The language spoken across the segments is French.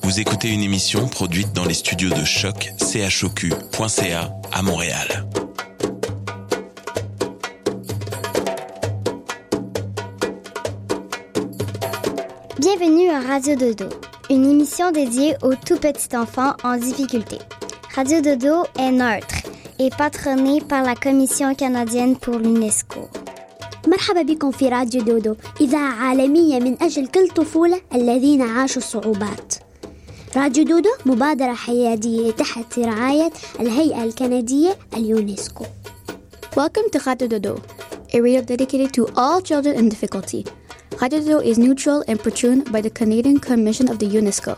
Vous écoutez une émission produite dans les studios de Choc, choq.ca à Montréal. Bienvenue à Radio Dodo, une émission dédiée aux tout petits enfants en difficulté. Radio Dodo est neutre et patronnée par la Commission canadienne pour l'UNESCO. مرحبا بكم في راديو دودو، إذاعة عالمية من أجل كل طفولة الذين عاشوا الصعوبات. راديو دودو مبادرة حيادية تحت رعاية الهيئة الكندية اليونسكو. Welcome to Radio Dodo, a radio dedicated to all children in difficulty. Radio Dodo is neutral and patroned by the Canadian Commission of the UNESCO.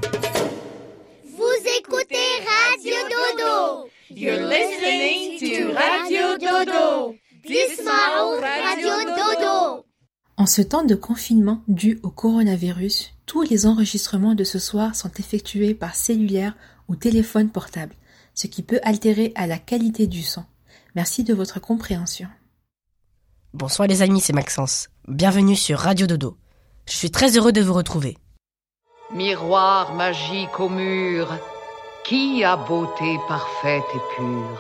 Vous écoutez Radio Dodo. You're listening to Radio Dodo. Dismao Radio Dodo. En ce temps de confinement dû au coronavirus, tous les enregistrements de ce soir sont effectués par cellulaire ou téléphone portable, ce qui peut altérer à la qualité du son. Merci de votre compréhension. Bonsoir les amis, c'est Maxence. Bienvenue sur Radio Dodo. Je suis très heureux de vous retrouver. Miroir magique au mur, qui a beauté parfaite et pure?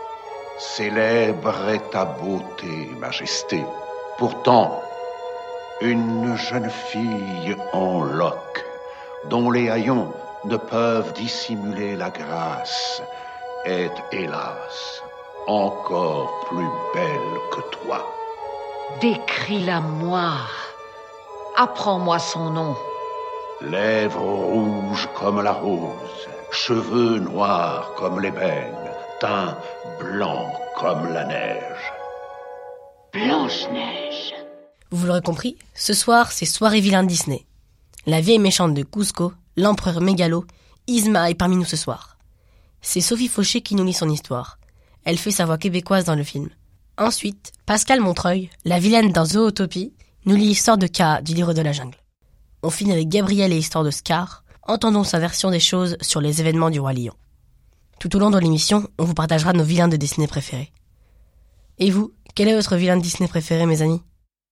Célèbre est ta beauté, majesté. Pourtant, une jeune fille en loques, dont les haillons ne peuvent dissimuler la grâce, est, hélas, encore plus belle que toi. Décris-la-moi. Apprends-moi son nom. Lèvres rouges comme la rose, cheveux noirs comme l'ébène, teint blanc comme la neige. Blanche-Neige. Vous l'aurez compris, ce soir, c'est Soirée vilain de Disney. La vieille méchante de Cusco, l'empereur mégalo, Yzma est parmi nous ce soir. C'est Sophie Fauché qui nous lit son histoire. Elle fait sa voix québécoise dans le film. Ensuite, Pascal Montreuil, la vilaine dans Zootopie, nous lit l'histoire de Kaa du livre de la jungle. On finit avec Gabriel et l'histoire de Scar. Entendons sa version des choses sur les événements du Roi Lion. Tout au long de l'émission, on vous partagera nos vilains de Disney préférés. Et vous, quel est votre vilain de Disney préféré, mes amis?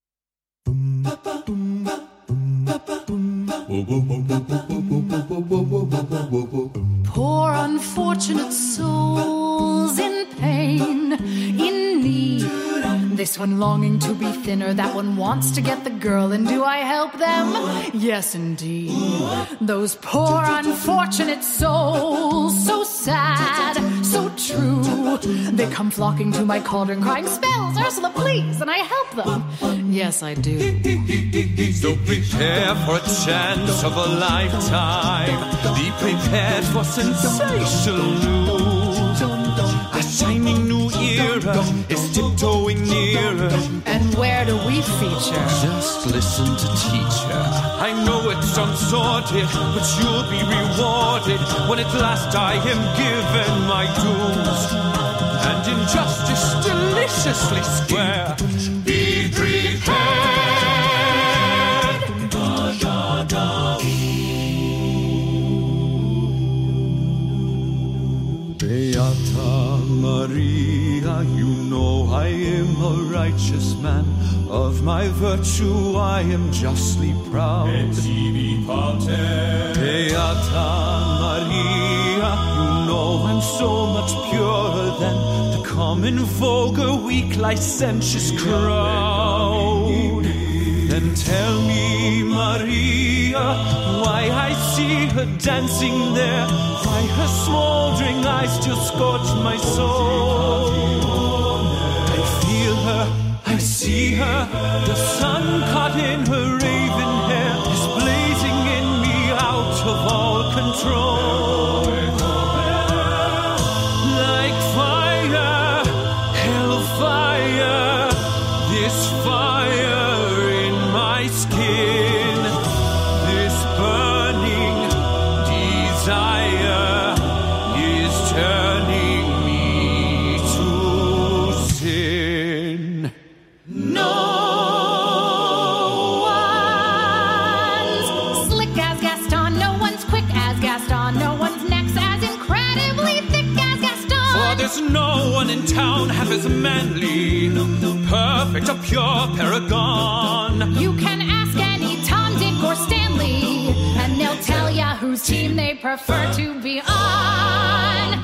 Poor unfortunate souls in pain, in need. This one longing to be thinner, that one wants to get the girl, and do I help them? Yes, indeed. Those poor unfortunate souls, so sad, so true. They come flocking to my cauldron crying, spells, Ursula, please, and I help them. Yes, I do. So prepare for a chance of a lifetime. Be prepared for sensational news. A shining new era is tiptoeing nearer. And where do we feature? Just listen to teacher. I know it's unsorted, but you'll be rewarded when at last I am given my dues. And injustice deliciously square. Be prepared. Beata Maria, you know I am a righteous man. Of my virtue I am justly proud. Beata Maria, you know I'm so much purer than the common vulgar, weak, licentious crowd. Then tell me, Maria, why I see her dancing there, why her smoldering eyes still scorch my soul. I feel her, I see her, the sun caught in her raven hair is blazing in me out of all control. Like fire, hellfire, this fire in my skin, this burning desire is turning me to sin. No one's slick as Gaston, no one's quick as Gaston, no one's neck's as incredibly thick as Gaston. For there's no one in town half as manly, perfect, a pure paragon. You can ask any Tom, Dick, or Stanley, and they'll tell ya who's whose team they prefer to be on.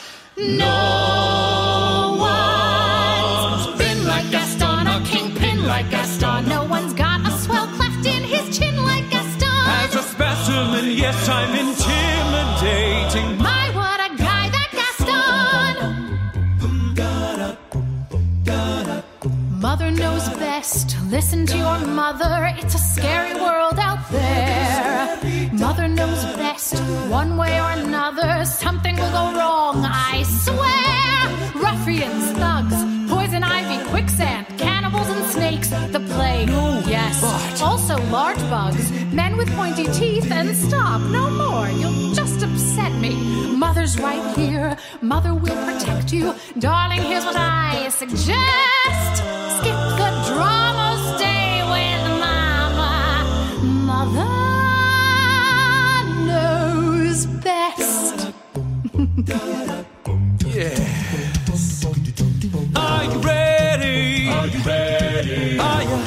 No one's been like Gaston, a kingpin like Gaston. No one's got a swell cleft in his chin like Gaston. As a specimen, yes, I'm intimidating. My, what a guy, that Gaston! Mother knows best. Listen to your mother. It's a scary world out there. Mother knows best. One way or another, something will go wrong, I swear. Ruffians, thugs, poison ivy, quicksand, cannibals and snakes, the plague. Yes, also large bugs, men with pointy teeth, and stop, no more. You'll just upset me. Mother's right here. Mother will protect you. Darling, here's what I suggest. Skip the drama, stay with Mama. Mother knows best. Yes. Are you ready? Are you ready? Are you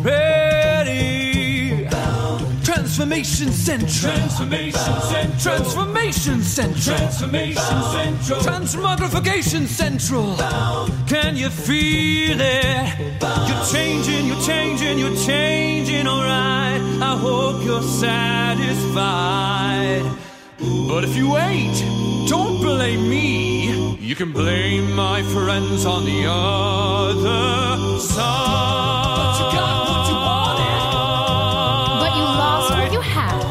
ready? Transformation Central. Transformation Central. Transformation Central. Transformation Central. Transmogrification Central. Can you feel it? You're changing, you're changing, you're changing, alright. I hope you're satisfied. But if you ain't, don't blame me. You can blame my friends on the other side. But you got what you wanted. But you lost what you had.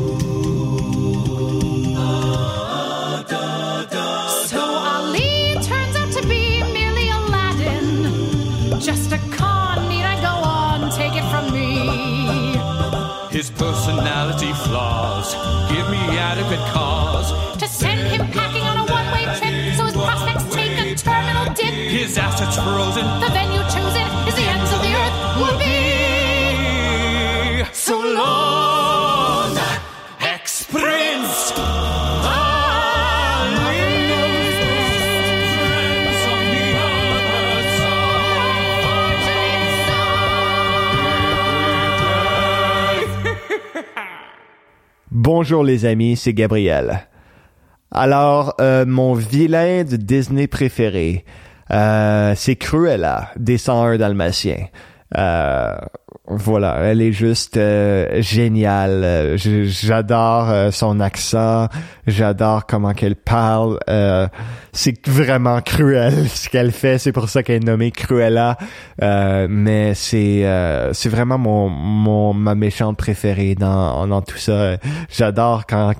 So Ali turns out to be merely Aladdin. Just a con, need I go on? Take it from me. His personality flaws give me adequate cause to send him packing on a one-way trip, so his prospects take a terminal dip. His assets frozen. The venue chosen is the ends of the earth will be. So long, ex-prince. Bonjour les amis, c'est Gabriel. Alors, mon vilain de Disney préféré, c'est Cruella, des 101 Dalmatiens. Voilà, elle est juste géniale. J'adore son accent, j'adore comment qu'elle parle. C'est vraiment cruel ce qu'elle fait, c'est pour ça qu'elle est nommée Cruella. Mais c'est vraiment ma méchante préférée dans tout ça. J'adore quand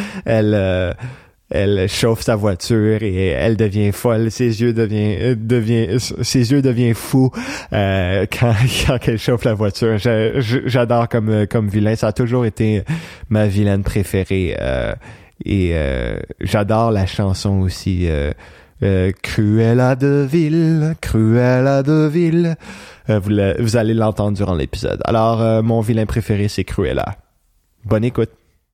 elle chauffe sa voiture et elle devient folle, ses yeux deviennent fous quand elle chauffe la voiture. J'adore comme vilain, ça a toujours été ma vilaine préférée et j'adore la chanson aussi Cruella de Vil, Cruella de Vil. Vous allez l'entendre durant l'épisode. Alors mon vilain préféré c'est Cruella. Bonne écoute.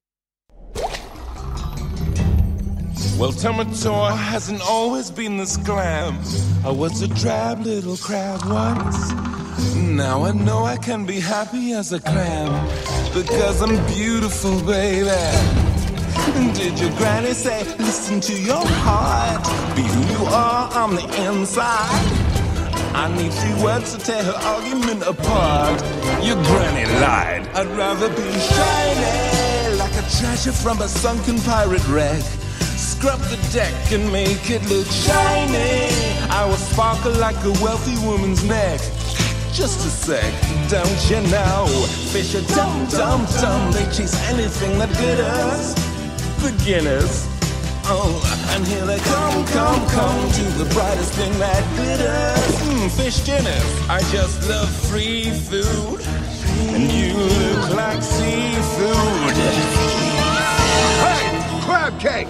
Well, Tomator hasn't always been this glam. I was a drab little crab once. Now I know I can be happy as a clam because I'm beautiful, baby. Did your granny say, listen to your heart, be who you are on the inside? I need 3 words to tear her argument apart. Your granny lied. I'd rather be shiny like a treasure from a sunken pirate wreck. Scrub the deck and make it look shiny. I will sparkle like a wealthy woman's neck. Just a sec, don't you know? Fish are dumb, dumb, dumb. They chase anything that glitters. Beginners. Oh, and here they come to the brightest thing that glitters. Fish dinners. I just love free food. And you look like seafood. Hey, crab cake!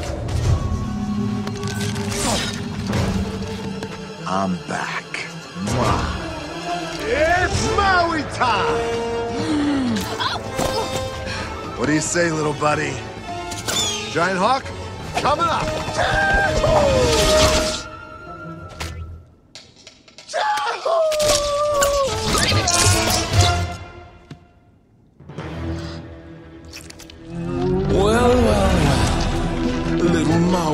I'm back. Mwah. It's Maui time! What do you say, little buddy? Giant Hawk, coming up! Well,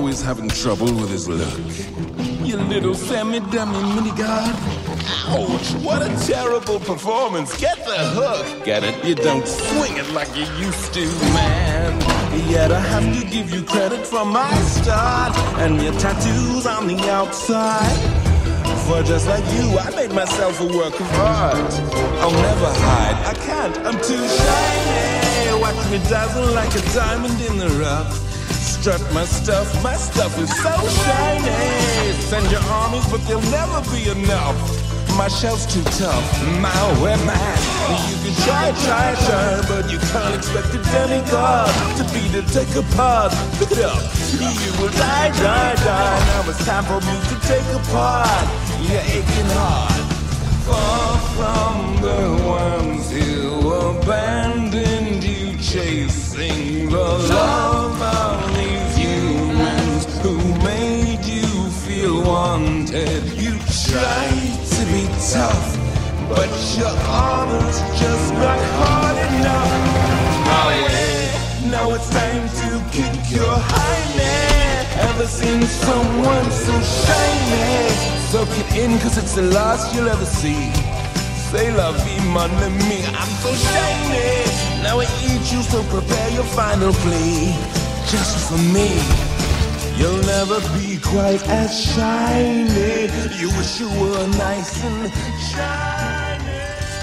always having trouble with his look. You little semi-dummy mini-god. Ouch, what a terrible performance. Get the hook. Get it? You don't swing it like you used to, man. Yet I have to give you credit for my start and your tattoos on the outside. For just like you, I made myself a work of art. I'll never hide, I can't, I'm too shiny. Watch me dazzle like a diamond in the rough. Strut my stuff is so shiny. Send your armies, but they'll never be enough. My shell's too tough, my man. You can try, but you can't expect a demigod to beat it, take apart. Pick it up, you will die. Now it's time for me to take apart your aching heart. Far from the ones who abandoned you, chasing the love of these humans who made you feel wanted. You tried to be tough, but your armor's just not hard enough. Oh yeah, now it's time to kick your highness. Ever seen someone so shiny? Soak it in, cause it's the last you'll ever see. Say la vie, mon ami, I'm so shiny. Now I eat you, so prepare your final plea. Just for me, you'll never be quite as shiny. You wish you were nice and shiny.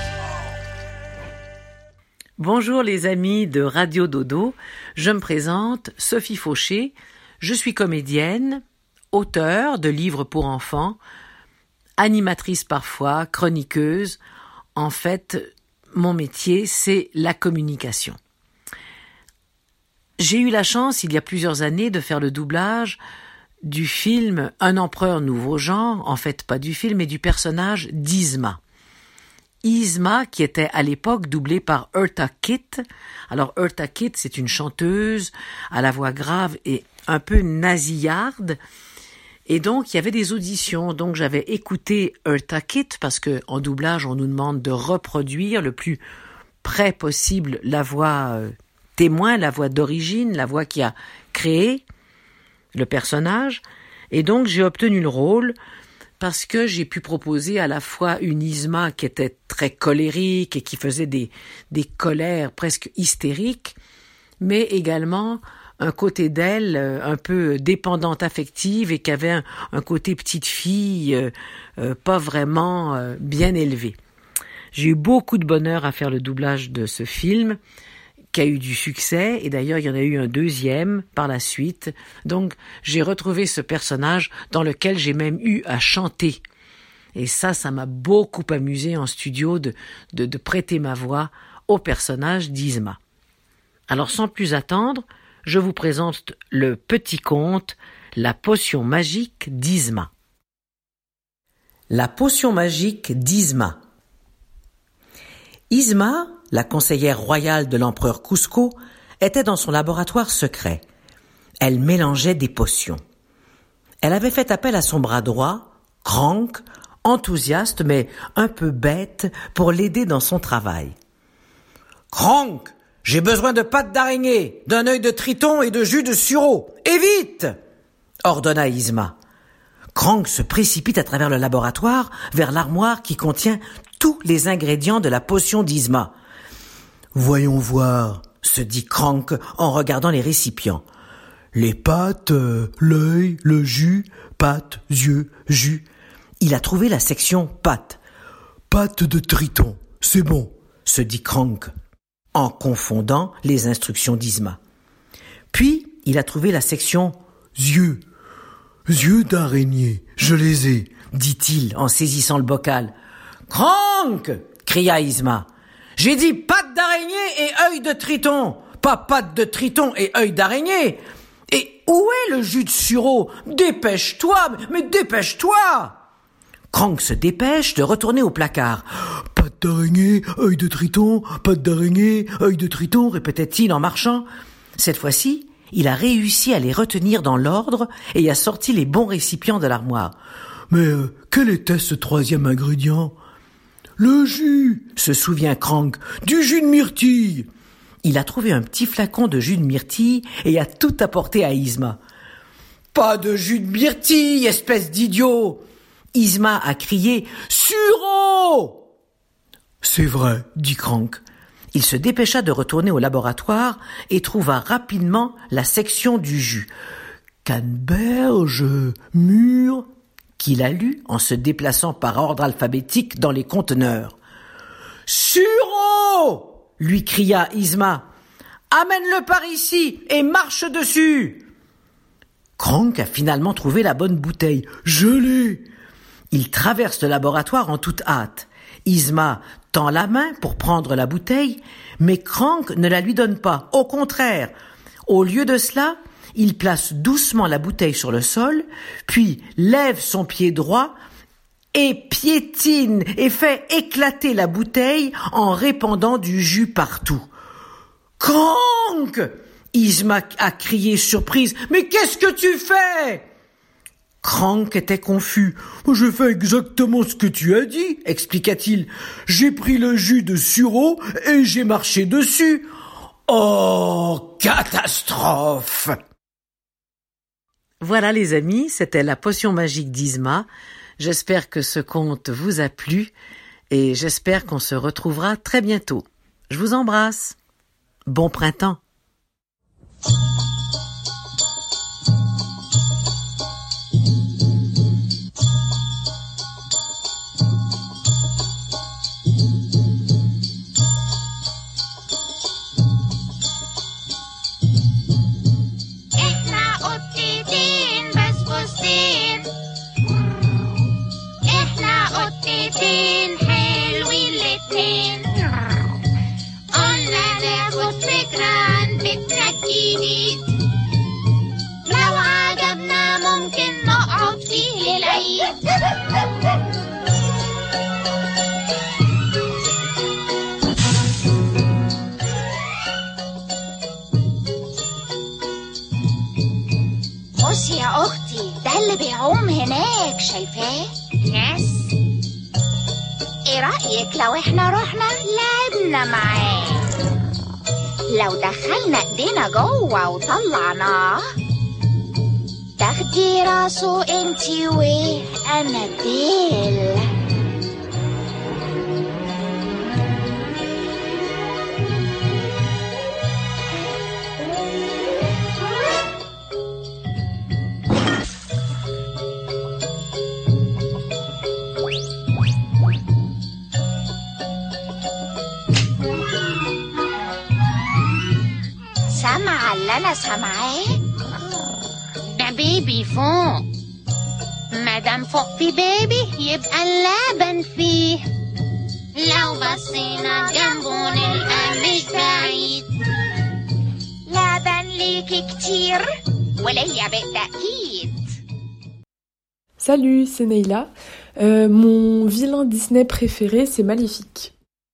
Bonjour les amis de Radio Dodo, je me présente, Sophie Fauché, je suis comédienne, auteure de livres pour enfants, animatrice parfois, chroniqueuse. En fait, mon métier, c'est la communication. J'ai eu la chance, il y a plusieurs années, de faire le doublage du film Un empereur nouveau genre, en fait pas du film, mais du personnage d'Yzma. Yzma, qui était à l'époque doublée par Eartha Kitt. Alors Eartha Kitt, c'est une chanteuse à la voix grave et un peu nasillarde. Et donc, il y avait des auditions. Donc, j'avais écouté Eartha Kitt parce que en doublage, on nous demande de reproduire le plus près possible la voix témoin, la voix d'origine, la voix qui a créé le personnage. Et donc, j'ai obtenu le rôle parce que j'ai pu proposer à la fois une Yzma qui était très colérique et qui faisait des colères presque hystériques, mais également un côté d'elle un peu dépendante affective et qui avait un côté petite fille pas vraiment bien élevé. J'ai eu beaucoup de bonheur à faire le doublage de ce film qui a eu du succès et d'ailleurs il y en a eu un deuxième par la suite. Donc j'ai retrouvé ce personnage dans lequel j'ai même eu à chanter. Et ça m'a beaucoup amusé en studio de prêter ma voix au personnage d'Yzma. Alors sans plus attendre, je vous présente le petit conte La potion magique d'Yzma. La potion magique d'Yzma. Yzma, la conseillère royale de l'empereur Kuzco, était dans son laboratoire secret. Elle mélangeait des potions. Elle avait fait appel à son bras droit, Krank, enthousiaste mais un peu bête, pour l'aider dans son travail. « Krank, j'ai besoin de pattes d'araignée, d'un œil de triton et de jus de sureau. Et vite !» ordonna Yzma. Krank se précipite à travers le laboratoire vers l'armoire qui contient tous les ingrédients de la potion d'Yzma. « Voyons voir, » se dit Krank en regardant les récipients. « Les pattes, l'œil, le jus, pattes, yeux, jus. » Il a trouvé la section pattes. « Pattes de triton, c'est bon, » se dit Krank, en confondant les instructions d'Yzma. Puis, il a trouvé la section yeux. « Yeux d'araignée, je les ai, » dit-il en saisissant le bocal. « Krank !» cria Yzma. « J'ai dit pattes d'araignée et œil de triton, pas pattes de triton et œil d'araignée. Et où est le jus de sureau ? Dépêche-toi, mais dépêche-toi !» Krank se dépêche de retourner au placard. « Pattes d'araignée, œil de triton, pattes d'araignée, œil de triton » répétait-il en marchant. Cette fois-ci, il a réussi à les retenir dans l'ordre et a sorti les bons récipients de l'armoire. « Mais quel était ce troisième ingrédient ?»« Le jus !» se souvient Krank. « Du jus de myrtille !» Il a trouvé un petit flacon de jus de myrtille et a tout apporté à Yzma. Pas de jus de myrtille, espèce d'idiot! Yzma a crié « Sureau !»« C'est vrai, » dit Krank. Il se dépêcha de retourner au laboratoire et trouva rapidement la section du jus. « Canneberge, mûr » qu'il a lu en se déplaçant par ordre alphabétique dans les conteneurs. « Sureau !» lui cria Yzma. « Amène-le par ici et marche dessus !» Krank a finalement trouvé la bonne bouteille. « Je l'ai !» Il traverse le laboratoire en toute hâte. Yzma tend la main pour prendre la bouteille, mais Krank ne la lui donne pas. Au contraire, au lieu de cela, il place doucement la bouteille sur le sol, puis lève son pied droit et piétine et fait éclater la bouteille en répandant du jus partout. « Krank !» Yzma a crié surprise. « Mais qu'est-ce que tu fais ?» Krank était confus. « J'ai fait exactement ce que tu as dit, » expliqua-t-il. « J'ai pris le jus de sureau et j'ai marché dessus. » Oh, catastrophe! Voilà les amis, c'était la potion magique d'Yzma. J'espère que ce conte vous a plu et j'espère qu'on se retrouvera très bientôt. Je vous embrasse. Bon printemps. بصي يا أختي، ده اللي بيعوم هناك، شايفاه؟ يس. إيه رأيك لو إحنا رحنا لعبنا معاه؟ لو دخلنا إيدينا جوه وطلعناه، تاخدي راسه انتي وأنا الديل. سامعة اللي أنا سامعاه؟ ده بيبي فوق. مادام فوق في بيبي يبقى اللبن فيه. لو بصينا جنبه نلقى مش بعيد. لبن ليكي كتير وليا بالتأكيد. Salut, c'est Neila. Mon vilain Disney préféré, c'est Maléfique.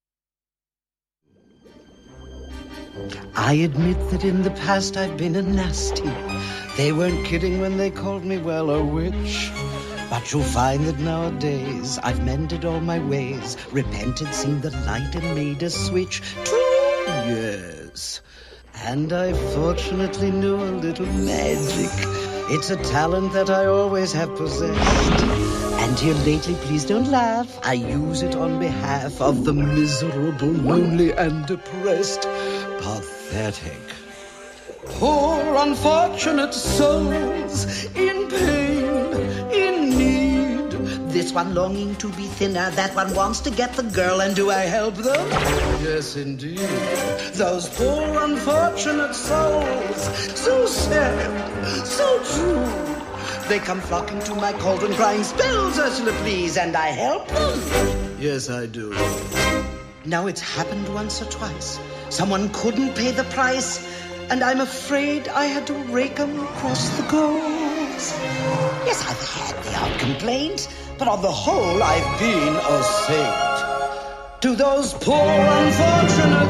I admit that in the past I've been a nasty. They weren't kidding when they called me, well, a witch. But you'll find that nowadays I've mended all my ways, repented, seen the light and made a switch. 2 years. And I fortunately knew a little magic. It's a talent that I always have possessed. And here lately, please don't laugh, I use it on behalf of the miserable, lonely and depressed. Pathetic. Poor unfortunate souls in pain, in need. This one longing to be thinner, that one wants to get the girl, and do I help them? Yes, indeed. Those poor unfortunate souls, so sad, so true. They come flocking to my cauldron crying, spells, Ursula, please, and I help them. Yes, I do. Now it's happened once or twice. Someone couldn't pay the price, and I'm afraid I had to rake 'em across the coals. Yes, I've had the odd complaint, but on the whole, I've been a saint. To those poor unfortunate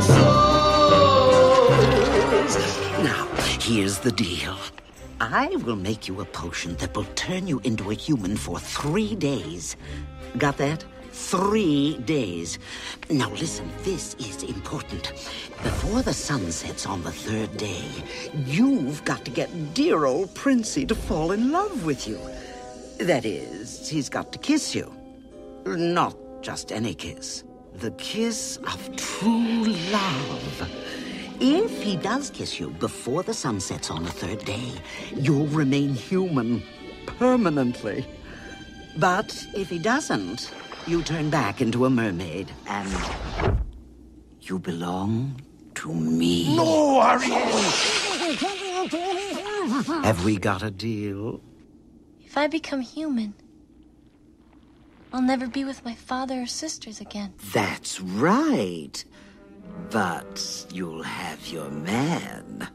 souls. Now, here's the deal. I will make you a potion that will turn you into a human for 3 days. Got that? 3 days. Now listen, this is important. Before the sun sets on the 3rd day, you've got to get dear old Princey to fall in love with you. That is, he's got to kiss you. Not just any kiss. The kiss of true love. If he does kiss you before the sun sets on the 3rd day, you'll remain human permanently. But if he doesn't, you turn back into a mermaid, and you belong to me. No, Ariel! Have we got a deal? If I become human, I'll never be with my father or sisters again. That's right. But you'll have your man.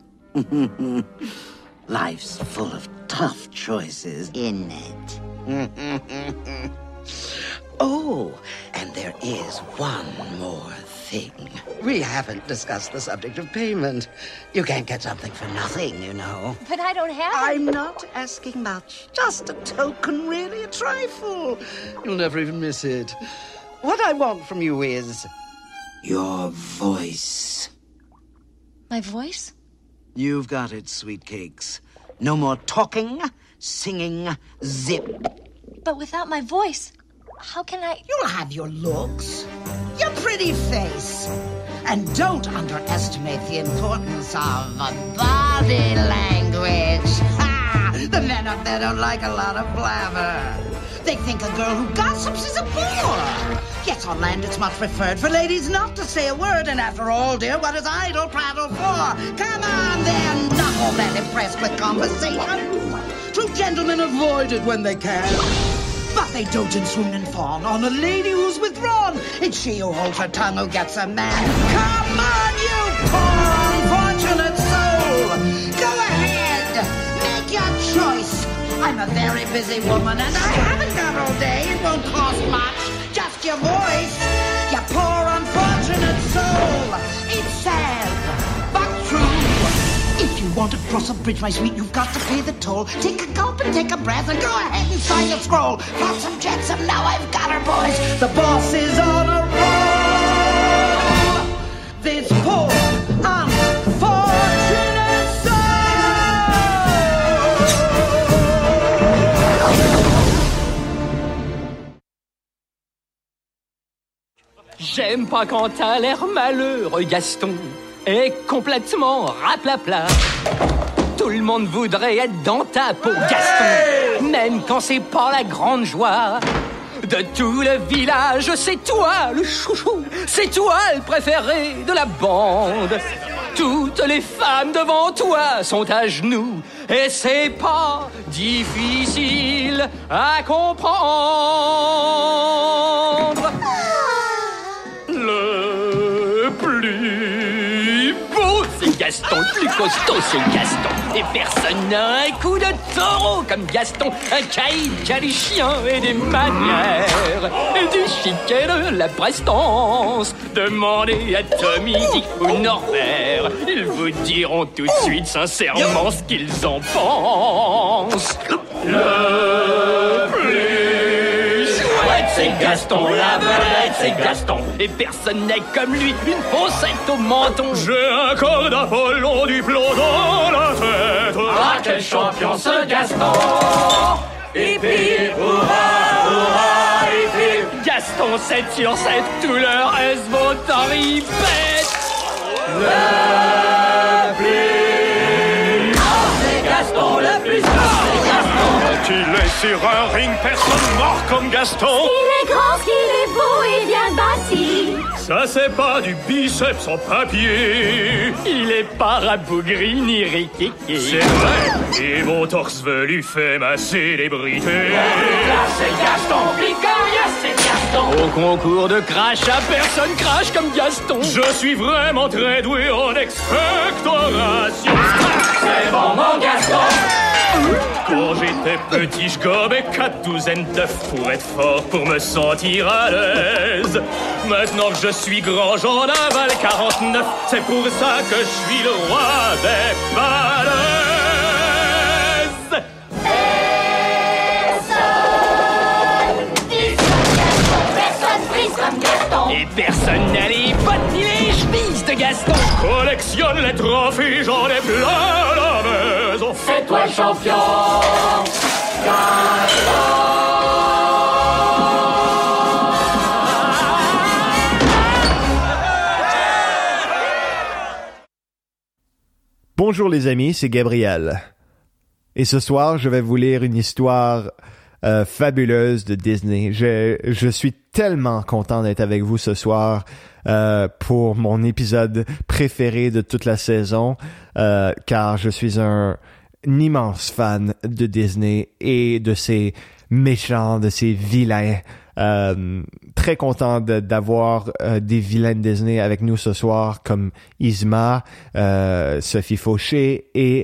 Life's full of tough choices, isn't it? Oh, and there is one more thing. We haven't discussed the subject of payment. You can't get something for nothing, you know. But I don't have I'm not asking much. Just a token, really, a trifle. You'll never even miss it. What I want from you is your voice. My voice? You've got it, sweet cakes. No more talking, singing, zip. But without my voice, how can I... You'll have your looks, your pretty face. And don't underestimate the importance of body language. Ha! The men up there don't like a lot of blabber. They think a girl who gossips is a bore. Yes, on land it's much preferred for ladies not to say a word. And after all, dear, what is idle prattle for? Come on, they're not all that impressed with conversation. True gentlemen avoid it when they can. But they dote and swoon and fawn on a lady who's withdrawn. It's she who holds her tongue who gets a man. Come on, you poor unfortunate soul. Go ahead, make your choice. I'm a very busy woman and I haven't got all day. It won't cost much, just your voice. You poor unfortunate soul. It's sad, but true. If you want to cross a bridge, my sweet, you've got to pay the toll. Take a gulp and take a breath and go ahead and sign the scroll. Flotsam jetsam, now I've got her, boys. The boss is on a roll. This poor unfortunate soul. J'aime pas quand t'as l'air malheureux, Gaston. Est complètement raplapla. Tout le monde voudrait être dans ta peau, Gaston. Même quand c'est pas la grande joie. De tout le village, c'est toi le chouchou. C'est toi le préféré de la bande. Toutes les femmes devant toi sont à genoux. Et c'est pas difficile à comprendre. Le plus beau, c'est Gaston. Le plus costaud, c'est Gaston. Et personne n'a un coup de taureau comme Gaston. Un caïd qui a des chiens et des manières. Et du chic et de la prestance. Demandez à Tommy, Dick ou Norbert. Ils vous diront tout de suite sincèrement ce qu'ils en pensent. Le plus chouette, c'est Gaston. La vedette, c'est Gaston. Et personne n'est comme lui, une fossette au menton. J'ai un corps d'Apollon, du plomb dans la tête. Ah, quel champion ce Gaston! Hip hip, hurrah, hurrah, hip hip. Gaston 7 sur 7, tout le reste vaut en ripette. Le plus... Oh, c'est Gaston le plus fort, c'est Gaston. Qu'il est sur un ring, personne mort comme Gaston. Il est grand, qu'il est beau et bien bâti. Ça c'est pas du biceps en papier. Il est pas rabougri ni riquiqui. C'est vrai. Et mon torse velu fait ma célébrité. Là c'est Gaston, Picaria c'est Gaston. Au concours de crash, à personne crache comme Gaston. Je suis vraiment très doué en expectoration. C'est bon mon Gaston. Quand j'étais petit, je gobais 4 douzaines d'œufs pour être fort, pour me sentir à l'aise. Maintenant que je suis grand, j'en avale 49. C'est pour ça que je suis le roi des balaises. Personne Collectionne les trophées, j'en ai plein la maison. Fais-toi le champion. Bonjour les amis, c'est Gabriel. Et ce soir, je vais vous lire une histoire fabuleuse de Disney. Je suis tellement content d'être avec vous ce soir pour mon épisode préféré de toute la saison, car je suis un immense fan de Disney et de ses méchants, de ses vilains. Très content d'avoir des vilains de Disney avec nous ce soir, comme Yzma, Sophie Fauché et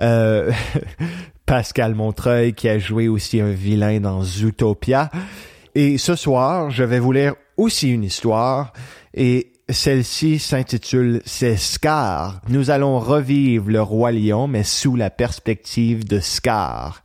Pascal Montreuil, qui a joué aussi un vilain dans Zootopia. Et ce soir, je vais vous lire aussi une histoire, et celle-ci s'intitule « C'est Scar ». Nous allons revivre le Roi Lion, mais sous la perspective de Scar.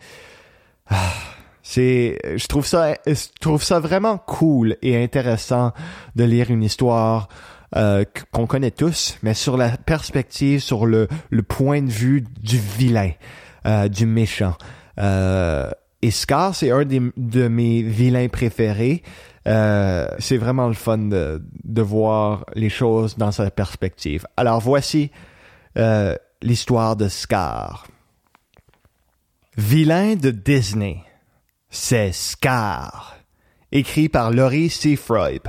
Je trouve ça vraiment cool et intéressant de lire une histoire qu'on connaît tous, mais sur la perspective, sur le point de vue du vilain, du méchant. Et Scar, c'est un de mes vilains préférés. C'est vraiment le fun de voir les choses dans sa perspective. Alors voici l'histoire de Scar. Vilain de Disney. C'est Scar, écrit par Laurie Seafroid.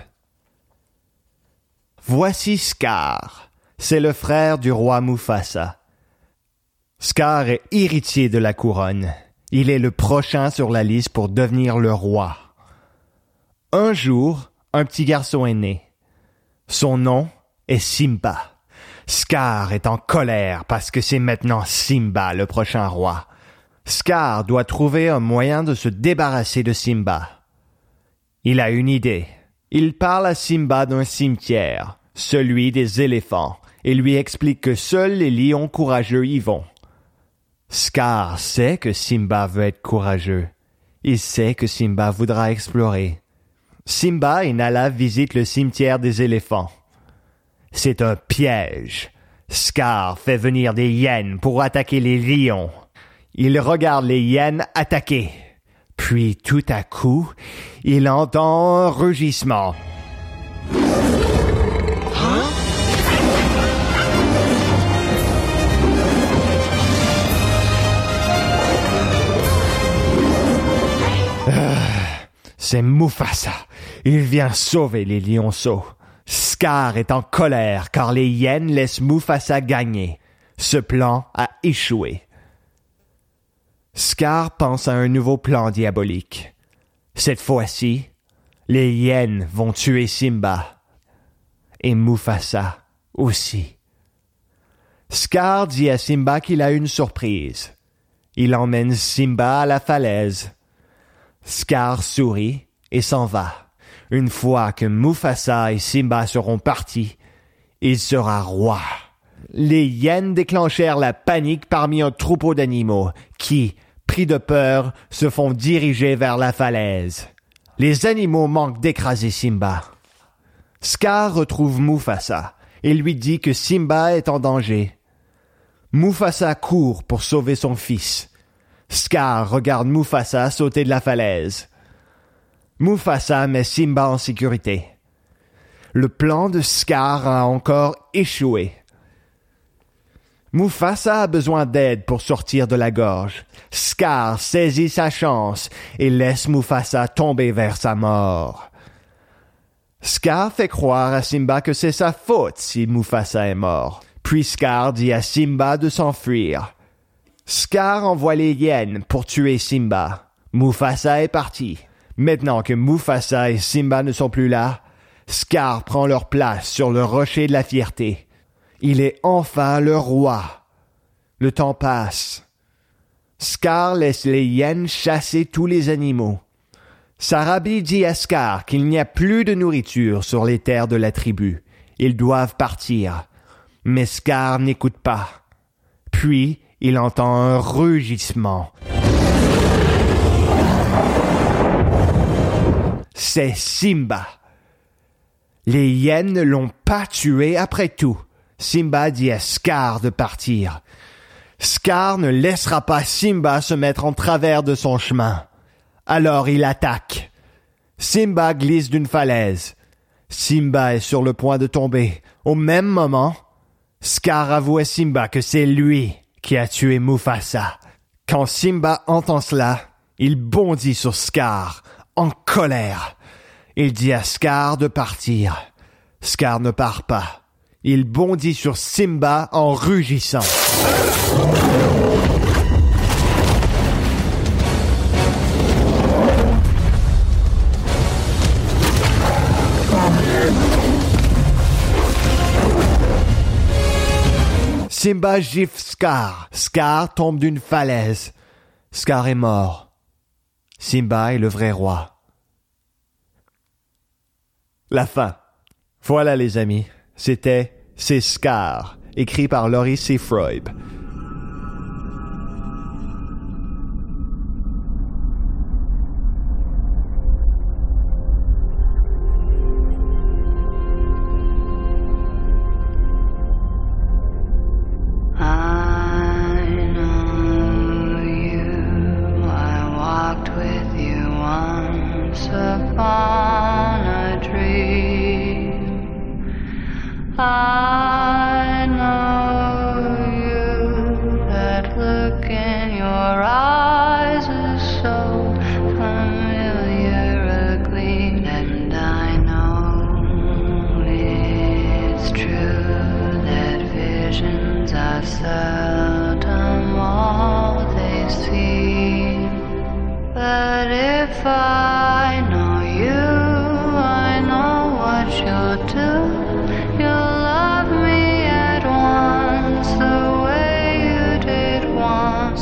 Voici Scar, c'est le frère du roi Mufasa. Scar est héritier de la couronne. Il est le prochain sur la liste pour devenir le roi. Un jour, un petit garçon est né. Son nom est Simba. Scar est en colère parce que c'est maintenant Simba le prochain roi. Scar doit trouver un moyen de se débarrasser de Simba. Il a une idée. Il parle à Simba d'un cimetière, celui des éléphants, et lui explique que seuls les lions courageux y vont. Scar sait que Simba veut être courageux. Il sait que Simba voudra explorer. Simba et Nala visitent le cimetière des éléphants. C'est un piège. Scar fait venir des hyènes pour attaquer les lions. Il regarde les hyènes attaquer. Puis, tout à coup, il entend un rugissement. C'est Mufasa. Il vient sauver les lionceaux. Scar est en colère car les hyènes laissent Mufasa gagner. Ce plan a échoué. Scar pense à un nouveau plan diabolique. Cette fois-ci, les hyènes vont tuer Simba. Et Mufasa aussi. Scar dit à Simba qu'il a une surprise. Il emmène Simba à la falaise. Scar sourit et s'en va. Une fois que Mufasa et Simba seront partis, il sera roi. Les hyènes déclenchèrent la panique parmi un troupeau d'animaux qui, pris de peur, se font diriger vers la falaise. Les animaux manquent d'écraser Simba. Scar retrouve Mufasa et lui dit que Simba est en danger. Mufasa court pour sauver son fils. Scar regarde Mufasa sauter de la falaise. Mufasa met Simba en sécurité. Le plan de Scar a encore échoué. Mufasa a besoin d'aide pour sortir de la gorge. Scar saisit sa chance et laisse Mufasa tomber vers sa mort. Scar fait croire à Simba que c'est sa faute si Mufasa est mort. Puis Scar dit à Simba de s'enfuir. Scar envoie les hyènes pour tuer Simba. Mufasa est parti. Maintenant que Mufasa et Simba ne sont plus là, Scar prend leur place sur le rocher de la fierté. Il est enfin le roi. Le temps passe. Scar laisse les hyènes chasser tous les animaux. Sarabi dit à Scar qu'il n'y a plus de nourriture sur les terres de la tribu. Ils doivent partir. Mais Scar n'écoute pas. Puis, il entend un rugissement. C'est Simba. Les hyènes ne l'ont pas tué après tout. Simba dit à Scar de partir. Scar ne laissera pas Simba se mettre en travers de son chemin. Alors il attaque. Simba glisse d'une falaise. Simba est sur le point de tomber. Au même moment, Scar avoue à Simba que c'est lui qui a tué Mufasa. Quand Simba entend cela, il bondit sur Scar, en colère. Il dit à Scar de partir. Scar ne part pas. Il bondit sur Simba en rugissant. Simba gifle Scar. Scar tombe d'une falaise. Scar est mort. Simba est le vrai roi. La fin. Voilà les amis. C'est Scar, écrit par Laurie C. Freud. I know you, that look in your eyes is so familiar a gleam, and I know it's true that visions are seldom all they seem, but if I know you, I know what you'll do. You'll love me at once, the way you did once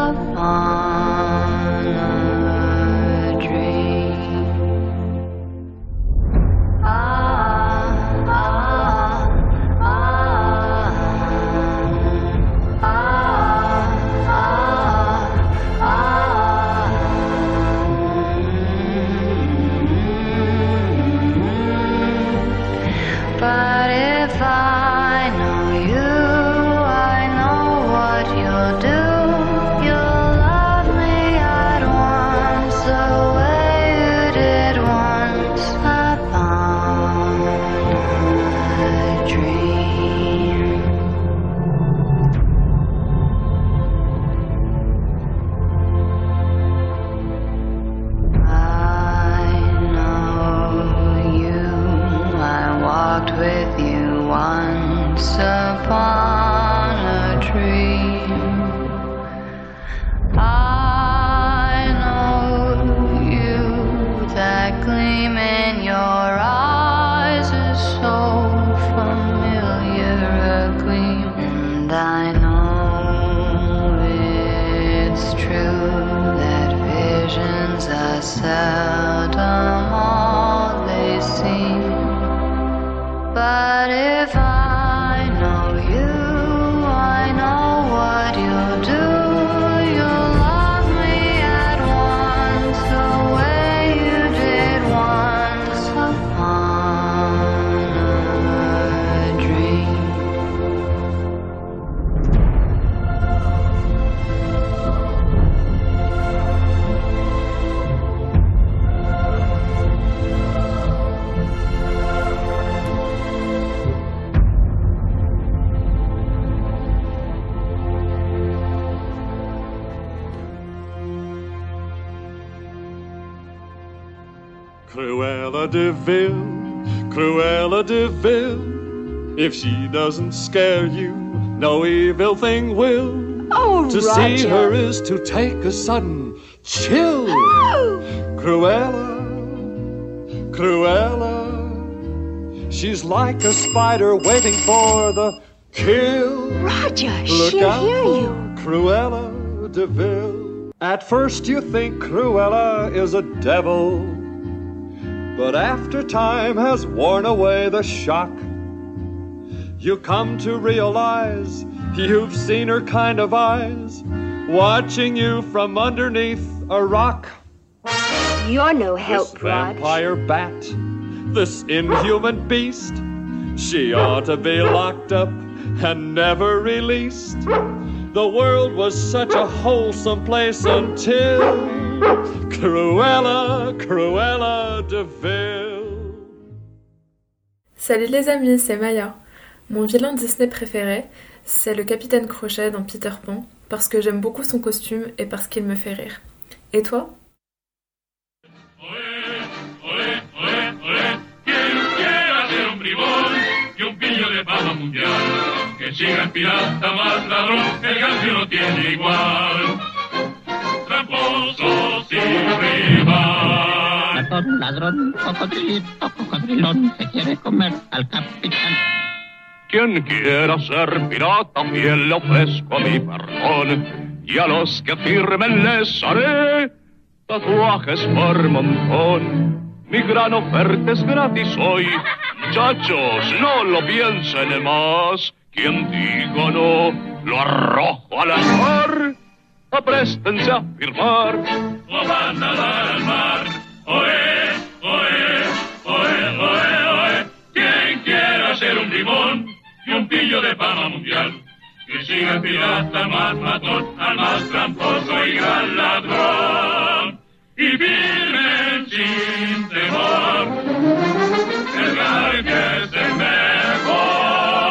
upon a dream. But if I know you, I know what you'll do. You'll love me at once, the way you did once upon a dream. I know you, I walked with you once upon a dream. I know you, that gleam in your eyes is so familiar a gleam, and I know it's true that visions are seldom all they seem. But if I know you, I know what you'll do. You'll love me at once, the way you did once upon a dream. Cruella de Vil, Cruella de Vil. If she doesn't scare you, no evil thing will. Oh, to Roger. see her is to take a sudden chill. Oh! Cruella, Cruella. She's like a spider waiting for the kill. Roger, Look she'll out hear for you. Cruella de Vil. At first you think Cruella is a devil, but after time has worn away the shock, you come to realize you've seen her kind of eyes watching you from underneath a rock. You're no This help, Rog. vampire bat, this inhuman beast, she ought to be locked up and never released. The world was such a wholesome place until Cruella, Cruella de Vil. Salut les amis, c'est Maya. Mon vilain Disney préféré, c'est le Capitaine Crochet dans Peter Pan, parce que j'aime beaucoup son costume et parce qu'il me fait rire. Et toi ? Que siga el pirata más ladrón, el Garfio no tiene igual. Tramposo sin rival. Ratón, ladrón, cocodrilito, cocodrilón, se quiere comer al capitán. Quien quiera ser pirata, fiel le ofrezco a mi perdón. Y a los que firmen les haré tatuajes por montón. Mi gran oferta es gratis hoy. Muchachos, no lo piensen más. Quien diga no, lo arrojo al mar. Apréstense a firmar. O van a dar al mar. Oe, oe, oe, oe, oe. Quien quiera ser un limón y un pillo de fama mundial. Que siga el pirata al más matón, al más tramposo y gran ladrón. Y firmen sin temor. El Garfio es el mejor.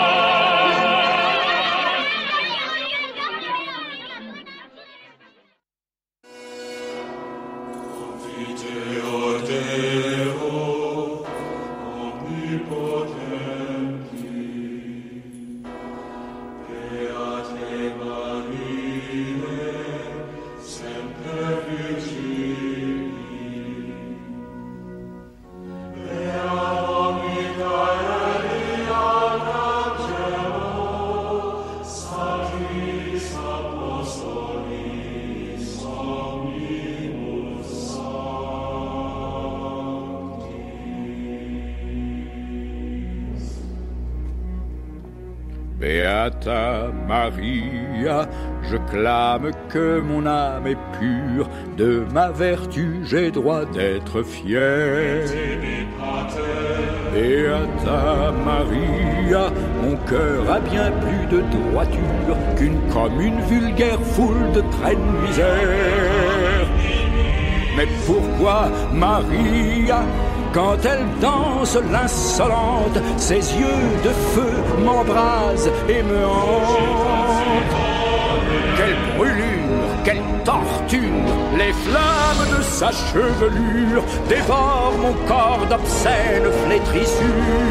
Beata Maria, je clame que mon âme est pure, de ma vertu j'ai droit d'être fier. Beata Maria, mon cœur a bien plus de droiture qu'une commune vulgaire foule de traînes misère. Mais pourquoi Maria, quand elle danse l'insolente, ses yeux de feu m'embrasent et me hantent? Quelle brûlure, quelle torture, les flammes de sa chevelure dévorent mon corps d'obscènes flétrissures.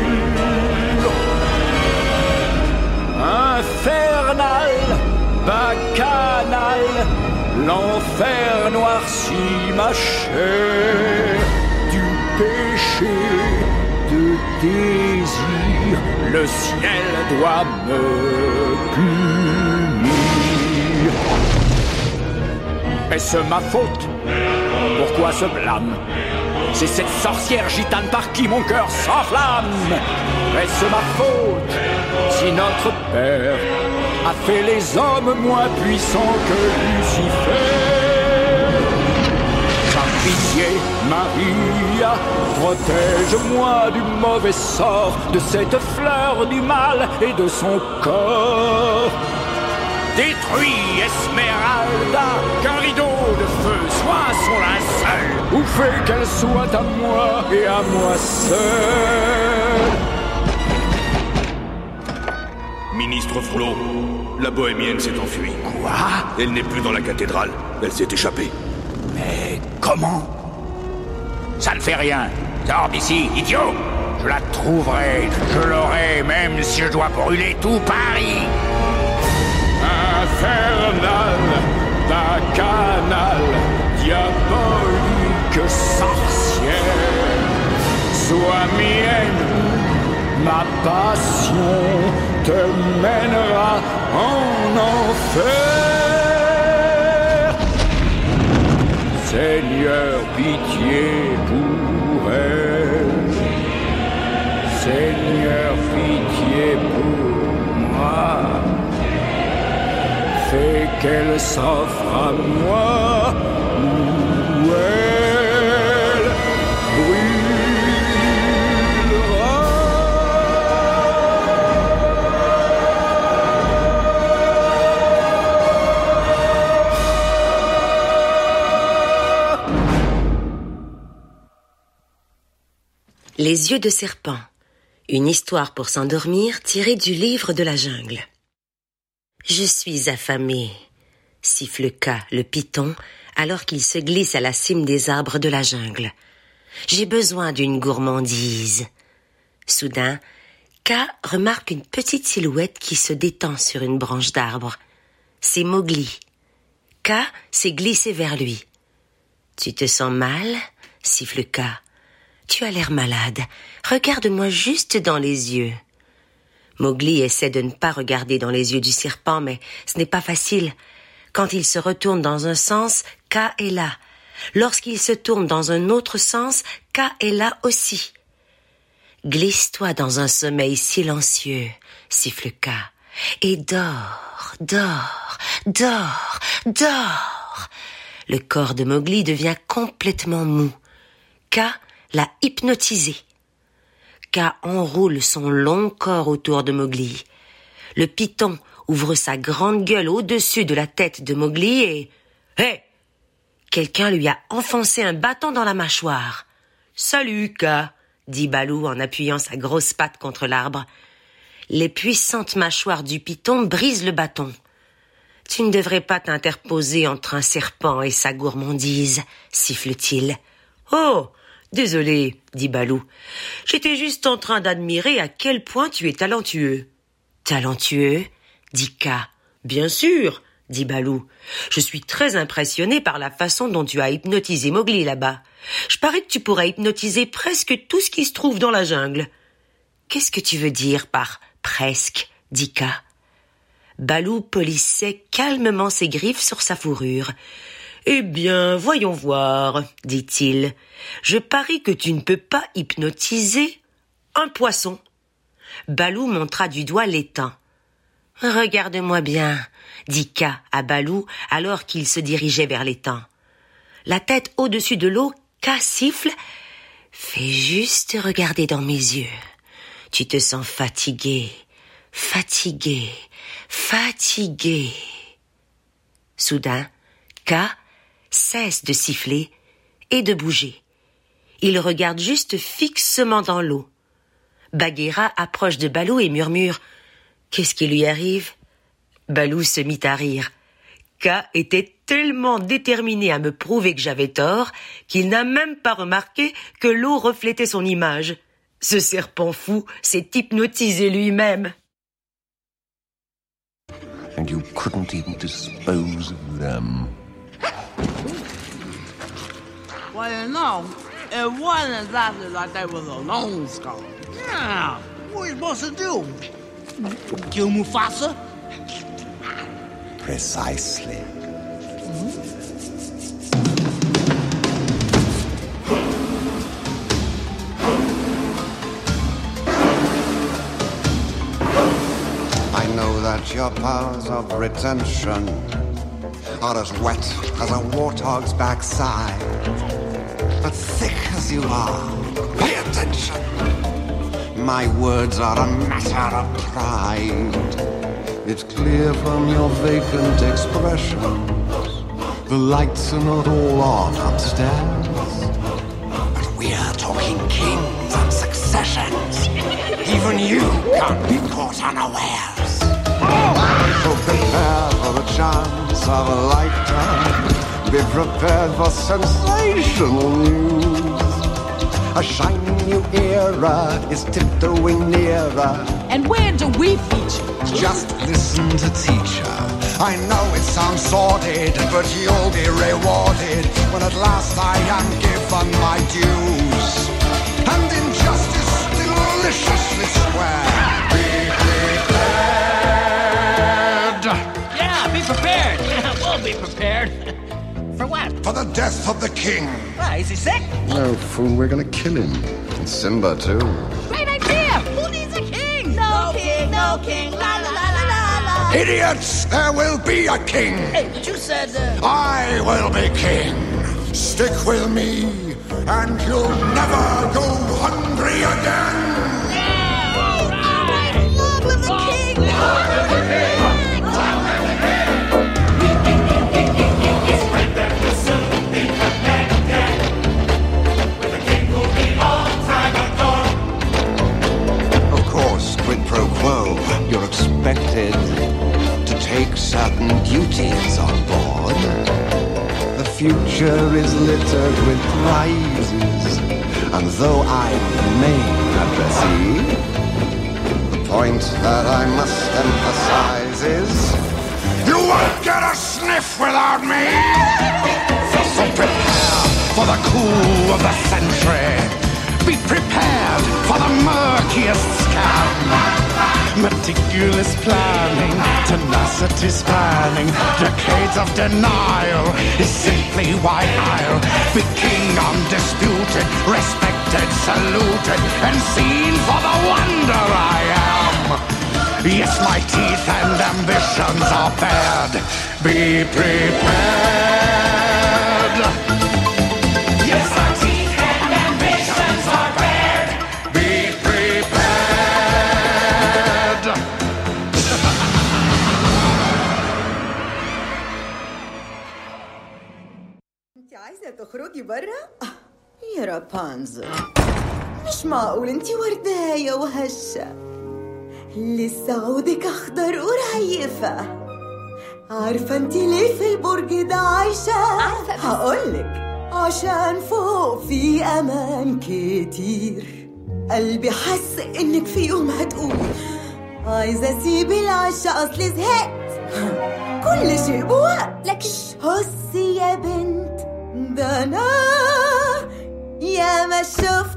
Infernal, bacchanal, l'enfer noircit ma chair. Du péché, de désir, le ciel doit me punir. Est-ce ma faute? Pourquoi ce blâme? C'est cette sorcière gitane par qui mon cœur s'enflamme. Est-ce ma faute si notre Père a fait les hommes moins puissants que Lucifer? Par pitié, Maria, protège-moi du mauvais sort de cette fleur du mal et de son corps. Détruis Esmeralda, qu'un rideau de feu soit son linceul, ou fais qu'elle soit à moi et à moi seul. Ministre Frollo, la bohémienne s'est enfuie. Quoi? Elle n'est plus dans la cathédrale, elle s'est échappée. Mais comment? Ça ne fait rien. Sors d'ici, idiot. Je la trouverai, je l'aurai, même si je dois brûler tout Paris. Infernal, bacchanal, diabolique sorcière, sois mienne, ma passion te mènera en enfer. Seigneur, pitié pour elle. Seigneur, pitié pour moi. Fais qu'elle s'offre à moi, ou elle brûlera. Les yeux de serpent. Une histoire pour s'endormir tirée du livre de la jungle. Je suis affamé, siffle K, le python, alors qu'il se glisse à la cime des arbres de la jungle. J'ai besoin d'une gourmandise. Soudain, K remarque une petite silhouette qui se détend sur une branche d'arbre. C'est Mowgli. K s'est glissé vers lui. Tu te sens mal? Siffle K. Tu as l'air malade. Regarde-moi juste dans les yeux. Mowgli essaie de ne pas regarder dans les yeux du serpent, mais ce n'est pas facile. Quand il se retourne dans un sens, K est là. Lorsqu'il se tourne dans un autre sens, K est là aussi. Glisse-toi dans un sommeil silencieux, siffle K, et dors, dors, dors, dors. Le corps de Mowgli devient complètement mou. K l'a hypnotisé. K enroule son long corps autour de Mowgli. Le python ouvre sa grande gueule au-dessus de la tête de Mowgli et... Hé! Quelqu'un lui a enfoncé un bâton dans la mâchoire. « Salut, K !» dit Baloo en appuyant sa grosse patte contre l'arbre. Les puissantes mâchoires du python brisent le bâton. « Tu ne devrais pas t'interposer entre un serpent et sa gourmandise, siffle-t-il. « Oh, désolé, dit Baloo. J'étais juste en train d'admirer à quel point tu es talentueux. »« Talentueux ?» dit K. « Bien sûr, dit Baloo. Je suis très impressionné par la façon dont tu as hypnotisé Mowgli là-bas. Je parie que tu pourrais hypnotiser presque tout ce qui se trouve dans la jungle. »« Qu'est-ce que tu veux dire par « presque » dit K. Baloo polissait calmement ses griffes sur sa fourrure. « Eh bien, voyons voir, dit-il. Je parie que tu ne peux pas hypnotiser un poisson. » Baloo montra du doigt l'étang. « Regarde-moi bien, dit K à Baloo alors qu'il se dirigeait vers l'étang. La tête au-dessus de l'eau, K siffle. « Fais juste regarder dans mes yeux. Tu te sens fatigué, fatigué, fatigué. » Soudain, K cesse de siffler et de bouger. Il regarde juste fixement dans l'eau. Bagheera approche de Baloo et murmure « Qu'est-ce qui lui arrive ?» Baloo se mit à rire. K était tellement déterminé à me prouver que j'avais tort qu'il n'a même pas remarqué que l'eau reflétait son image. Ce serpent fou s'est hypnotisé lui-même. And you couldn't even dispose of them. Well, no, it wasn't exactly like they was a lone skull. Yeah, what are you supposed to do? Kill Mufasa? Precisely. I know that your powers of retention are as wet as a warthog's backside. But thick as you are, pay attention. My words are a matter of pride. It's clear from your vacant expressions the lights are not all on upstairs. But we're talking kings and successions. Even you can't be caught unawares. So prepare for the chance of a lifetime. Be prepared for sensational news. A shining new era is tiptoeing nearer. And where do we feature? Just listen to teacher. I know it sounds sordid, but you'll be rewarded when at last I am given my dues. And injustice deliciously square. Be prepared. Yeah, be prepared. We'll be prepared. For what? For the death of the king. Why, is he sick? No, fool, we're gonna kill him. And Simba, too. Great idea! Who needs a king? No king, no king, la la la la la. Idiots! There will be a king! Hey, but you said... I will be king! Stick with me, and you'll never go hungry again! Yeah, all right! Long live the king! Long live the king! With a king who'll be on time ago. certain duties on board. The future is littered with prizes, and though I remain at the sea, the point that I must emphasize is, you won't get a sniff without me! So prepare for the coup of the century. Be prepared for the murkiest scam. Meticulous planning, tenacity spanning, decades of denial is simply why I'll be king undisputed, respected, saluted, and seen for the wonder I am. Yes, my teeth and ambitions are bared. Be prepared. Yes, my teeth and ambitions are bared. Be prepared. انت عايزة تخرجي برا؟ يا رابنزل، مش معقول انت ورداية وهشة، لسه عودك اخضر ورهيفة. عارفة انت ليه في البرج ده عايشة؟ عارفة هقولك، عشان فوق في امان كتير. قلبي حس انك في يوم هتقولي عايزة اسيب العشا اصلي زهقت. كل شيء بوقت، لكن هسي يا بنت، ده انا يا ما شفت،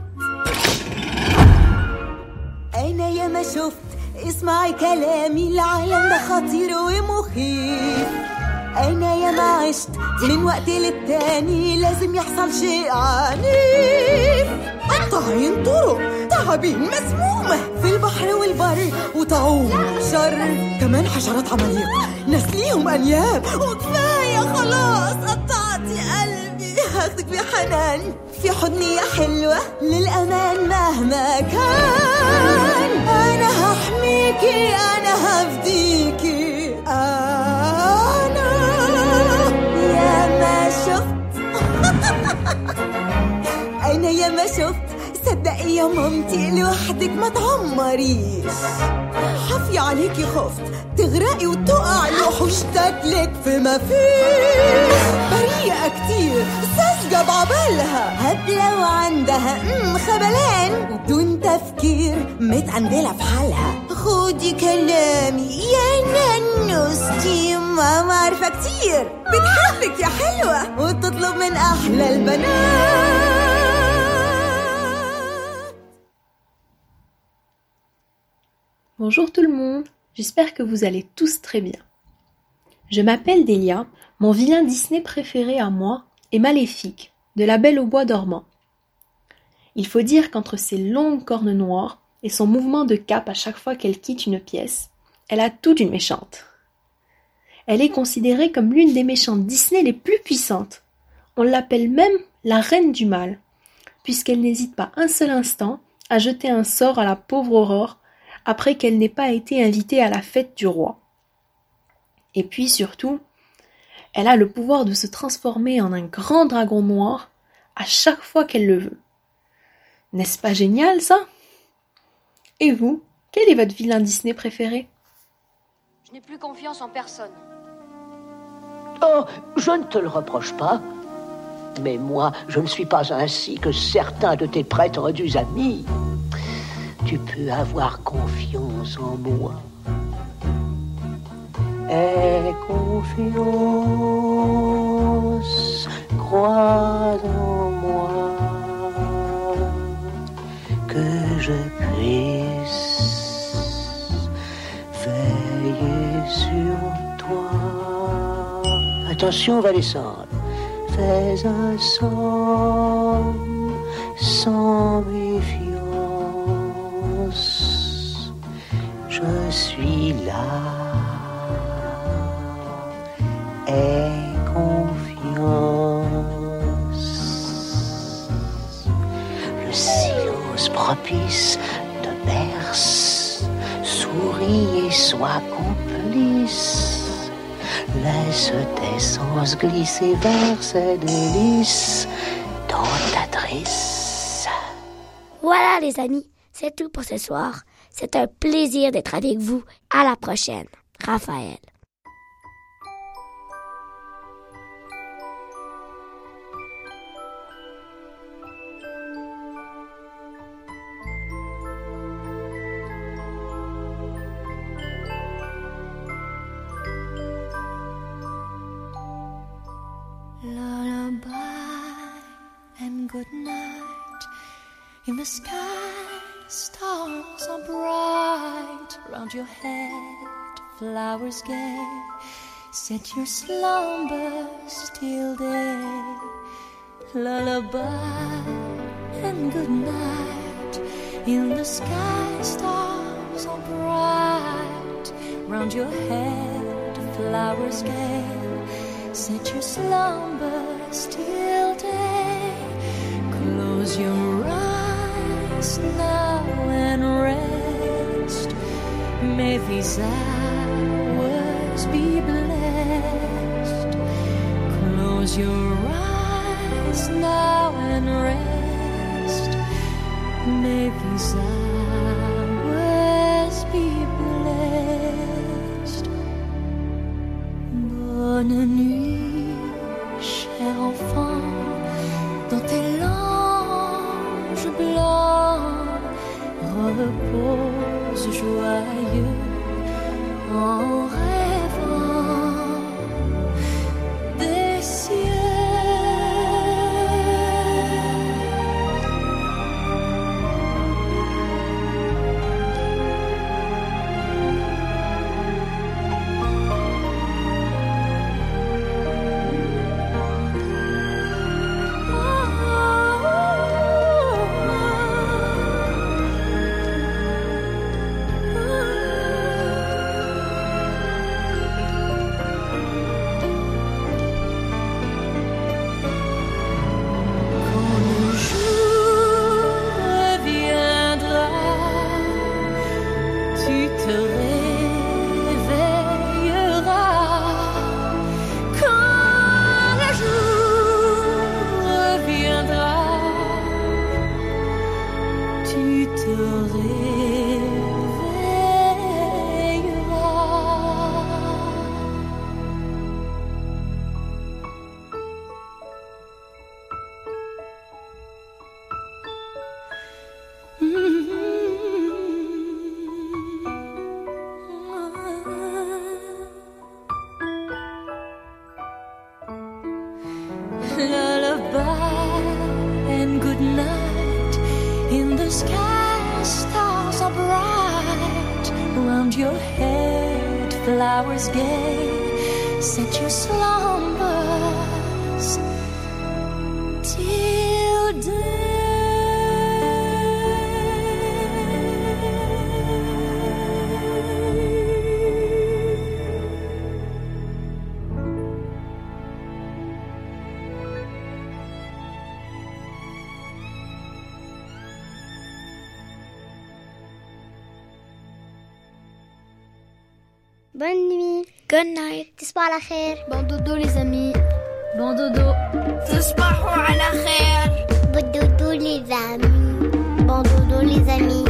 انا يا ما شفت. اسمعي كلامي، العالم ده خطير ومخيف. انا يا ما عشت من وقت للتاني، لازم يحصل شيء عنيف. قطاعين طرق، تعابين مسمومة في البحر والبر، وطاعون شر، كمان حشرات عماليق ناس ليهم انياب. وكفاية خلاص، قطعتي قلبي، هاخدك بحنان في حضني يا حلوة للأمان مهما كان. أنا هحميكي، أنا هفديكي، أنا يا ما شفت. أنا يا ما شفت. صدقي يا مامتي، لوحدك ما تعمريش. حفي عليكي خفت تغرقي وتقعي، وحوش تاكلك في ما فيش. بريئة كتير، ساذجة بعبالها، هبلة وعندها خبلان، وبدون تفكير متعندلة في حالها. خدي كلامي يا نانوستي، ماما عارفة كتير بتحبك يا حلوة، وتطلب من أحلى البنات. Bonjour tout le monde, j'espère que vous allez tous très bien. Je m'appelle Delia, mon vilain Disney préféré à moi est Maléfique, de La Belle au Bois dormant. Il faut dire qu'entre ses longues cornes noires et son mouvement de cape à chaque fois qu'elle quitte une pièce, elle a tout d'une méchante. Elle est considérée comme l'une des méchantes Disney les plus puissantes. On l'appelle même la reine du mal, puisqu'elle n'hésite pas un seul instant à jeter un sort à la pauvre Aurore après qu'elle n'ait pas été invitée à la fête du roi. Et puis surtout, elle a le pouvoir de se transformer en un grand dragon noir à chaque fois qu'elle le veut. N'est-ce pas génial ça? Et vous, quel est votre vilain Disney préféré? Je n'ai plus confiance en personne. Oh, je ne te le reproche pas. Mais moi, je ne suis pas ainsi que certains de tes prétendus amis. Tu peux avoir confiance en moi. Aie confiance, crois en moi, que je puisse veiller sur toi. Attention, on va descendre. Fais un somme sans méfiance. Je suis là. Aie confiance. Le silence propice te berce. Souris et sois complice. Laisse tes sens glisser vers ces délices dont t'adresse. Voilà les amis, c'est tout pour ce soir. C'est un plaisir d'être avec vous. À la prochaine. Raphaël. and good night. In the sky, stars are bright. Round your head, flowers gay. Set your slumbers till day. Lullaby and good night. In the sky, stars are bright. Round your head, flowers gay. Set your slumbers till day. Close your eyes now and rest. May these hours be blessed. Close your eyes now and rest. May these hours be blessed. Bonne nuit, cher enfant, dans tes langes blancs, repose joyeux en rêvant des cieux. Flowers gay, set your slumbers till day. Bonne nuit. Good night. تصبحوا على خير. Bon dodo les amis. Bon dodo. تصبحوا على خير. Bon dodo les amis. Bon dodo les amis.